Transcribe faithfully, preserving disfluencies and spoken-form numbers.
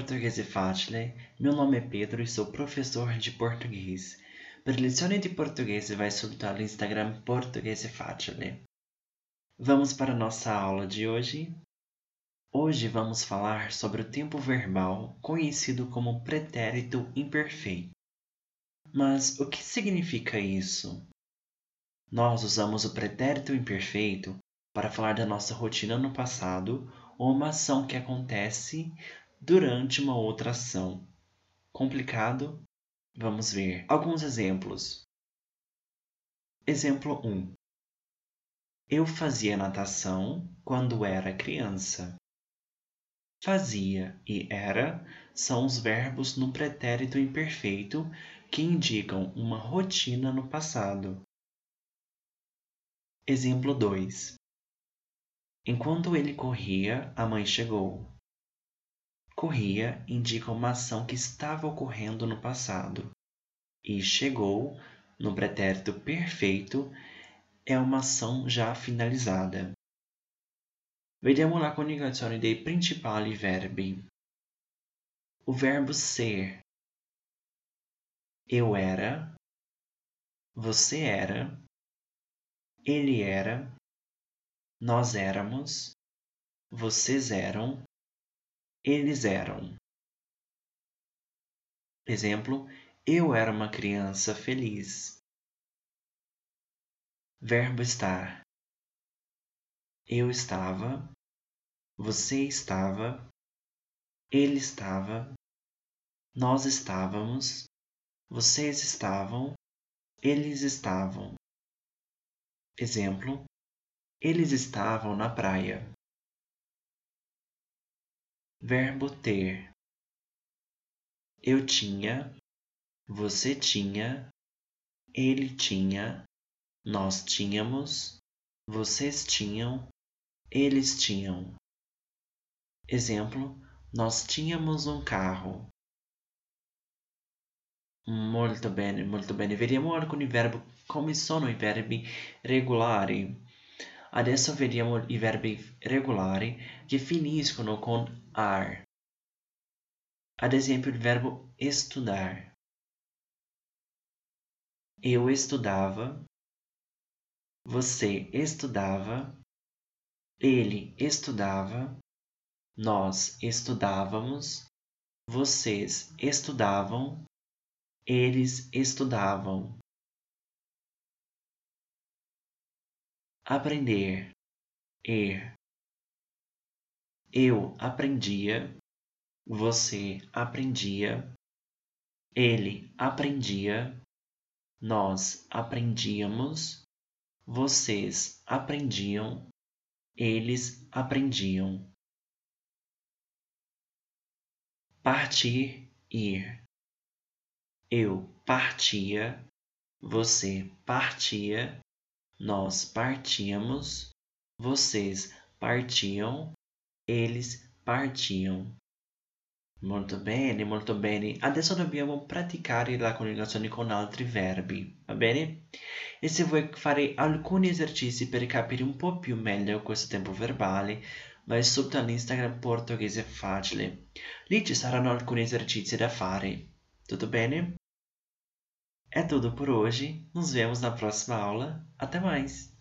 Portoghese Facile, meu nome é Pedro e sou professor de português. Per lezioni di portoghese vai sul Instagram Portoghese Facile. Vamos para a nossa aula de hoje? Hoje vamos falar sobre o tempo verbal, conhecido como pretérito imperfeito. Mas o que significa isso? Nós usamos o pretérito imperfeito para falar da nossa rotina no passado ou uma ação que acontece durante uma outra ação. Complicado? Vamos ver alguns exemplos. Exemplo um. Eu fazia natação quando era criança. Fazia e era são os verbos no pretérito imperfeito que indicam uma rotina no passado. Exemplo dois. Enquanto ele corria, a mãe chegou. Corria indica uma ação que estava ocorrendo no passado. E chegou, no pretérito perfeito, è uma ação já finalizzata. Vediamo la coniugazione dei principali verbi. O verbo ser. Eu era, você era, ele era, nós éramos, vocês eram, eles eram. Exemplo, eu era uma criança feliz. Verbo estar. Eu estava, você estava, ele estava, nós estávamos, vocês estavam, eles estavam. Exemplo, eles estavam na praia. Verbo ter. Eu tinha, você tinha, ele tinha, nós tínhamos, vocês tinham, eles tinham. Exemplo, nós tínhamos um carro. Molto bene, molto bene. Vediamo alcuni verbi, come sono i verbi regolari. Adesso vediamo i verbi regolari che finiscono con ar. Ad esempio il verbo estudar. Eu estudava, você estudava, ele estudava, nós estudávamos, vocês estudavam, eles estudavam. Aprender, er. Eu aprendia, você aprendia, ele aprendia, nós aprendíamos, vocês aprendiam, eles aprendiam. Partir, ir. Eu partia, você partia, nós partíamos, vocês partiam, eles partiam. Molto bene, molto bene. Adesso dobbiamo praticare la coniugazione con altri verbi, va bene? E se vuoi fare alcuni esercizi per capire un po' più meglio questo tempo verbale, vai subito all'Instagram Portoghese Facile. Lì ci saranno alcuni esercizi da fare. Tutto bene? É tudo por hoje. Nos vemos na próxima aula. Até mais!